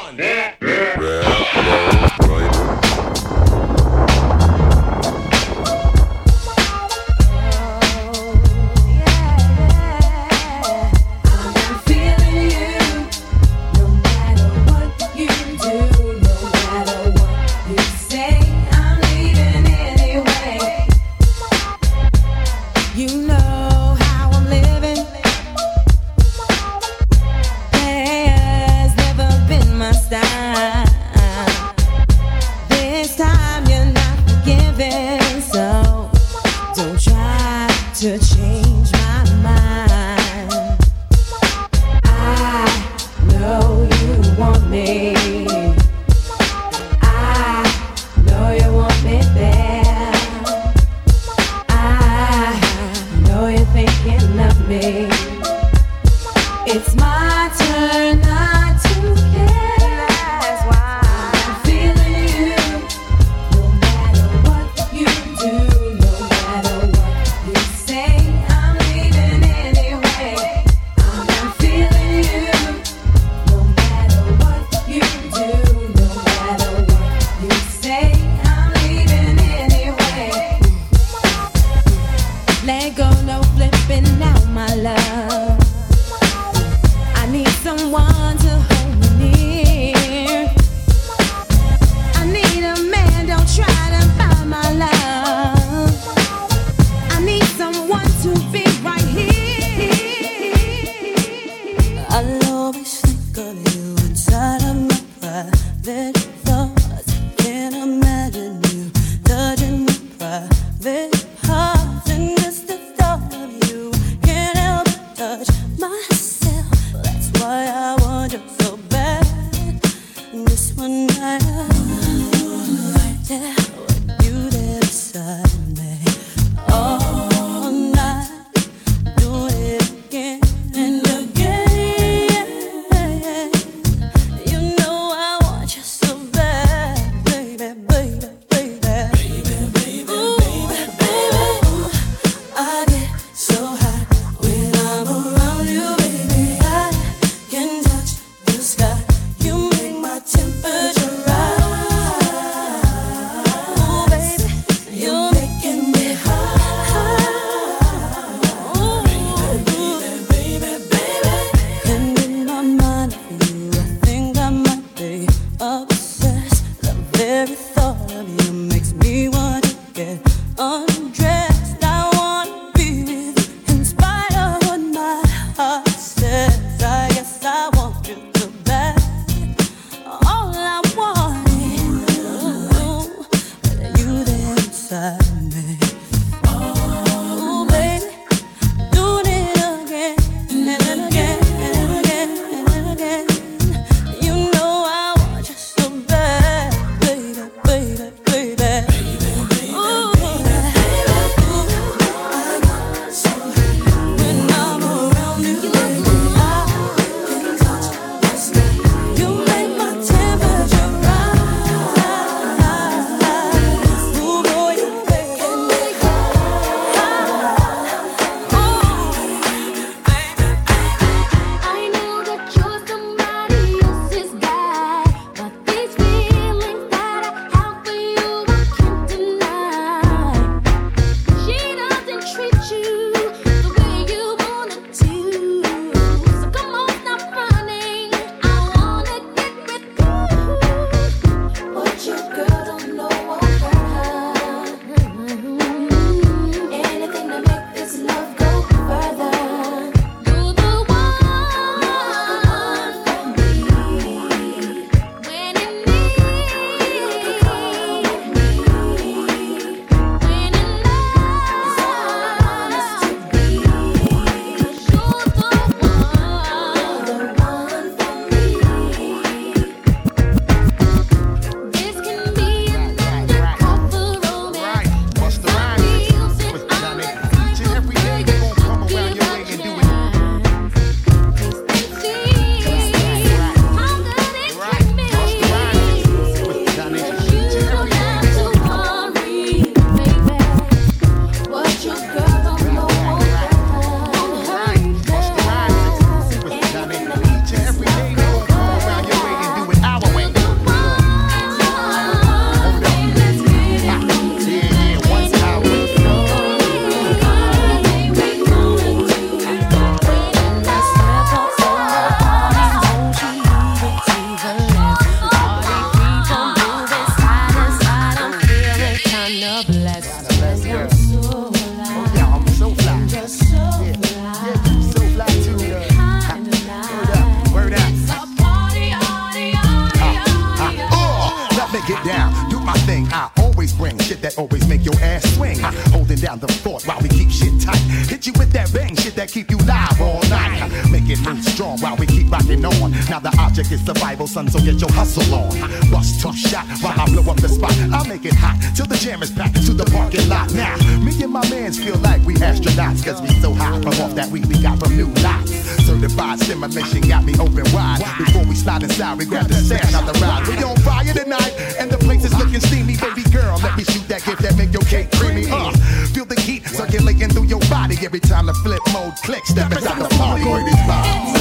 baby. get down, do my thing. I always bring shit that always make your ass swing. Holding down the fort while we keep shit tight. Hit you with that bang shit that keep you live all night. Make it move strong while we keep rocking on. Now the object is survival, son, so get your hustle on. Bust tough shot while I blow up the spot. I'll make it hot till the jam is packed to the parking lot. Now, me and my mans feel like we astronauts, cause we so high from off that weed we got from New Lots. Certified stimulation got me open wide. Before we slide inside, we grab the stash out the ride. We on fire tonight, and the place is looking steamy. Baby girl, let me shoot that gift that make your cake creamy. Feel the heat circulating through your body every time the flip mode clicks. Step inside the party with this vibe.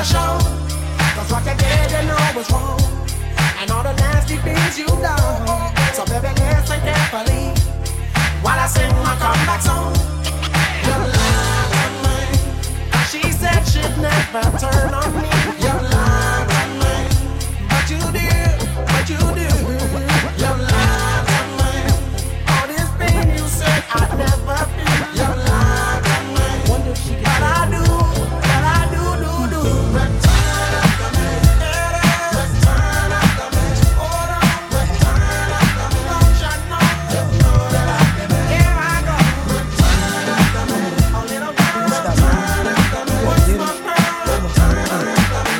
show. Cause what you did, you know was wrong. And all the nasty things you done. So baby, listen carefully while I sing my comeback song. You lied on me. She said she'd never turn on me. You lied on me. But you did, but you did. You lied on me. All this pain you said I'd never feel. You lied on me. But I do, do. Return after me. Return after me. Hold on, return after me. Don't you know? Here I go. Return after me. A little girl, return after me. What's my girl? Return after me.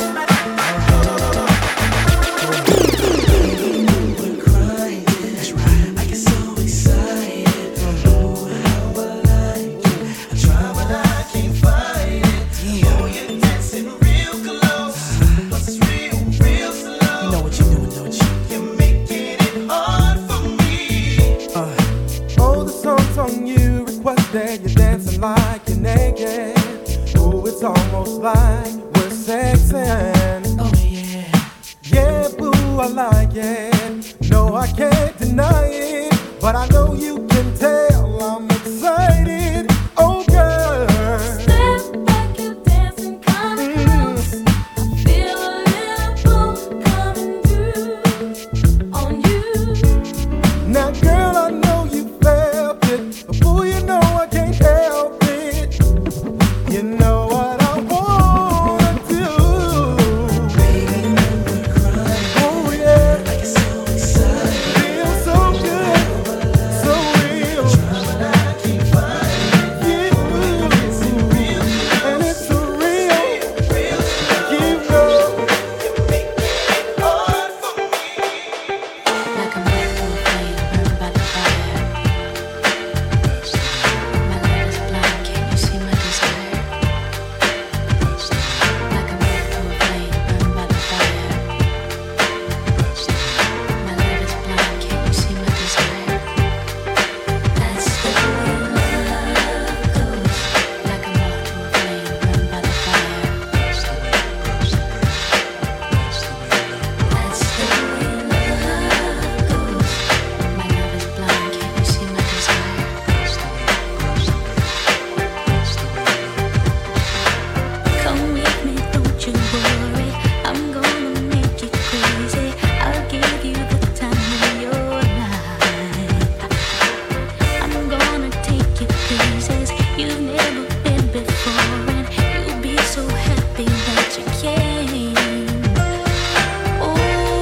We're crying. That's right. I get so excited. Oh, how I like it. I try, but I can't fight it. Oh, you're dancing real close, but it's real slow. You know what you're doing, don't you? You're making it hard for me. Oh, the song's on you, requested. You're dancing like you're naked. Oh, it's almost like we're sexing. Oh yeah. Yeah, boo, I like it. No, I can't deny it. But I know you can tell I'm excited. Oh, girl. Step back, you dancing kinda close. I feel a little pull coming through on you. Now, girl, I know you felt it. But boo, you know I can't help it. You know what I wanna do. Baby, we're crying. Oh, yeah. I get so excited. Feel so good. So real. But I can't fight it. And it's so real. Real slow. You know. You're making it hard for me. Like a mountain flame burned by the fire. My love is blind, can't you see my desire? Like a mountain flame burned by the fire. My love is blind, can't you see my desire? That's the way love goes. Like a mountain flame burned by the fire. That's the way love goes. My love is blind, can't you see my desire? Come with me, don't you worry. I'm gonna make you crazy. I'll give you the time of your life. I'm gonna take you places you've never been before, and you'll be so happy that you came. Oh,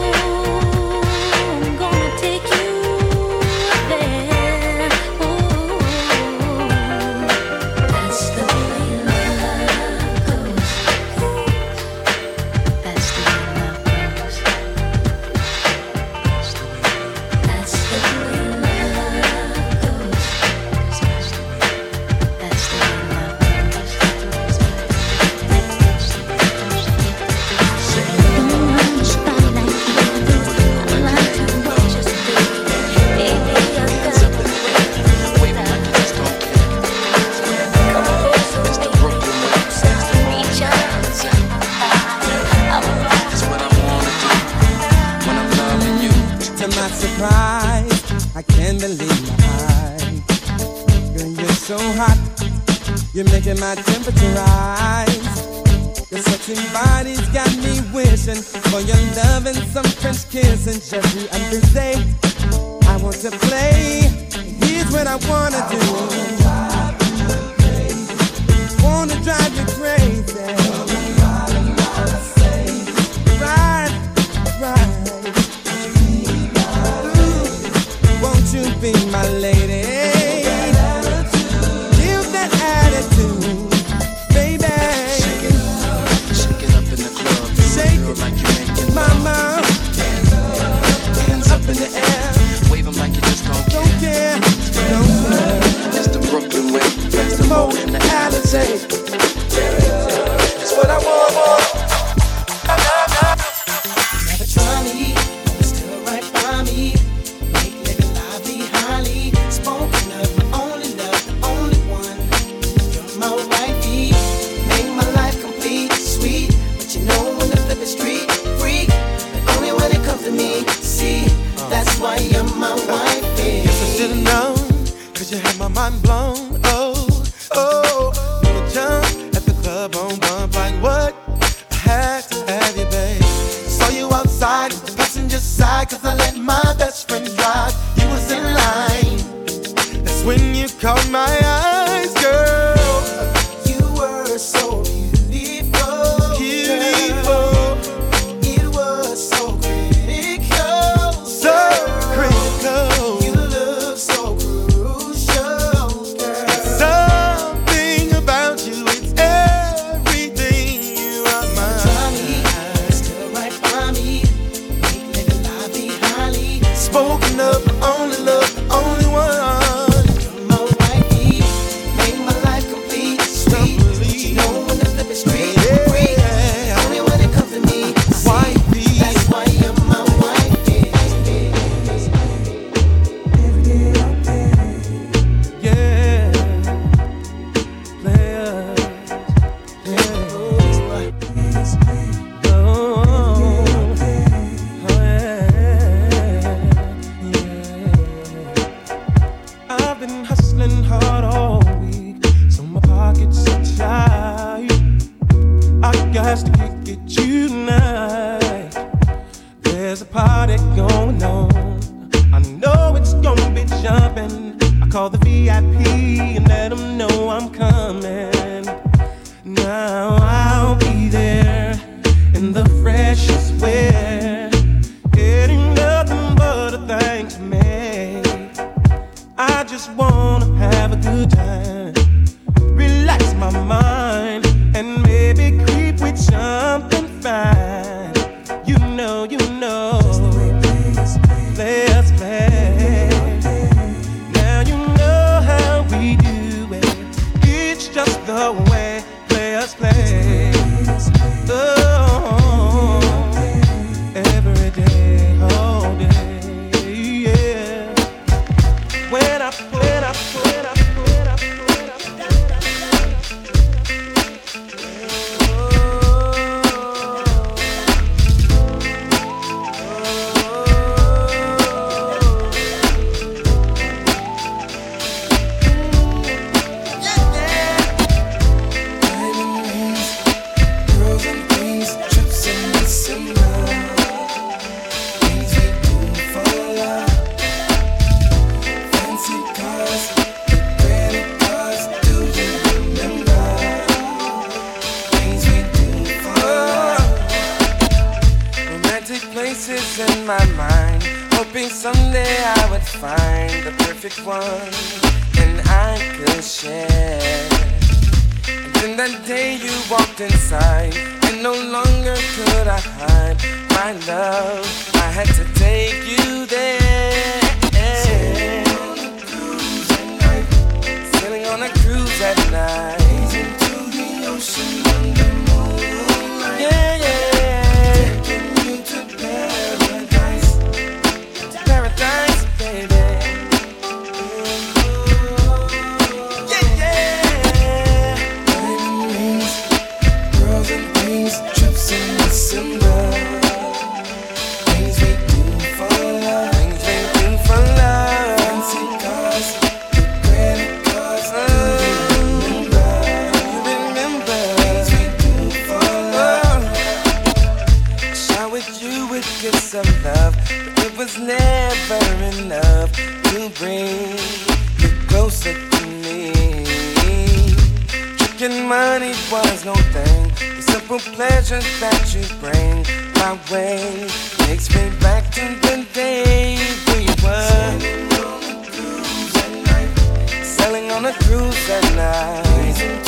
I'm gonna take you there. Oh, that's the way love goes. That's the way love goes. That's the way love goes. That's the way love To my surprise, I can't believe my eyes. Girl, you're so hot, you're making my temperature rise. Your sexy body's got me wishing for your love and some French kissing. Just the other day, I want to play. Here's what I wanna do. Wanna drive you crazy. Right. Won't you be my lady? Give that attitude, baby. Shake it up in the club. Shake Feel it, like you're making mama. hands Up in the air, Wave them like you just don't don't care. care, don't care. It's the Brooklyn way. That's the Mo mo in in the the Alizé. 'cause I let my best friend drive. You was in line. That's when you caught my eyes, girl. You were so beautiful. Beautiful. It was so critical. So critical. You look so crucial, girl. Something about you, it's everything. You are mine. Still right by me. Make living life be highly spoken of. Only love, only one. Sailing on a cruise at night.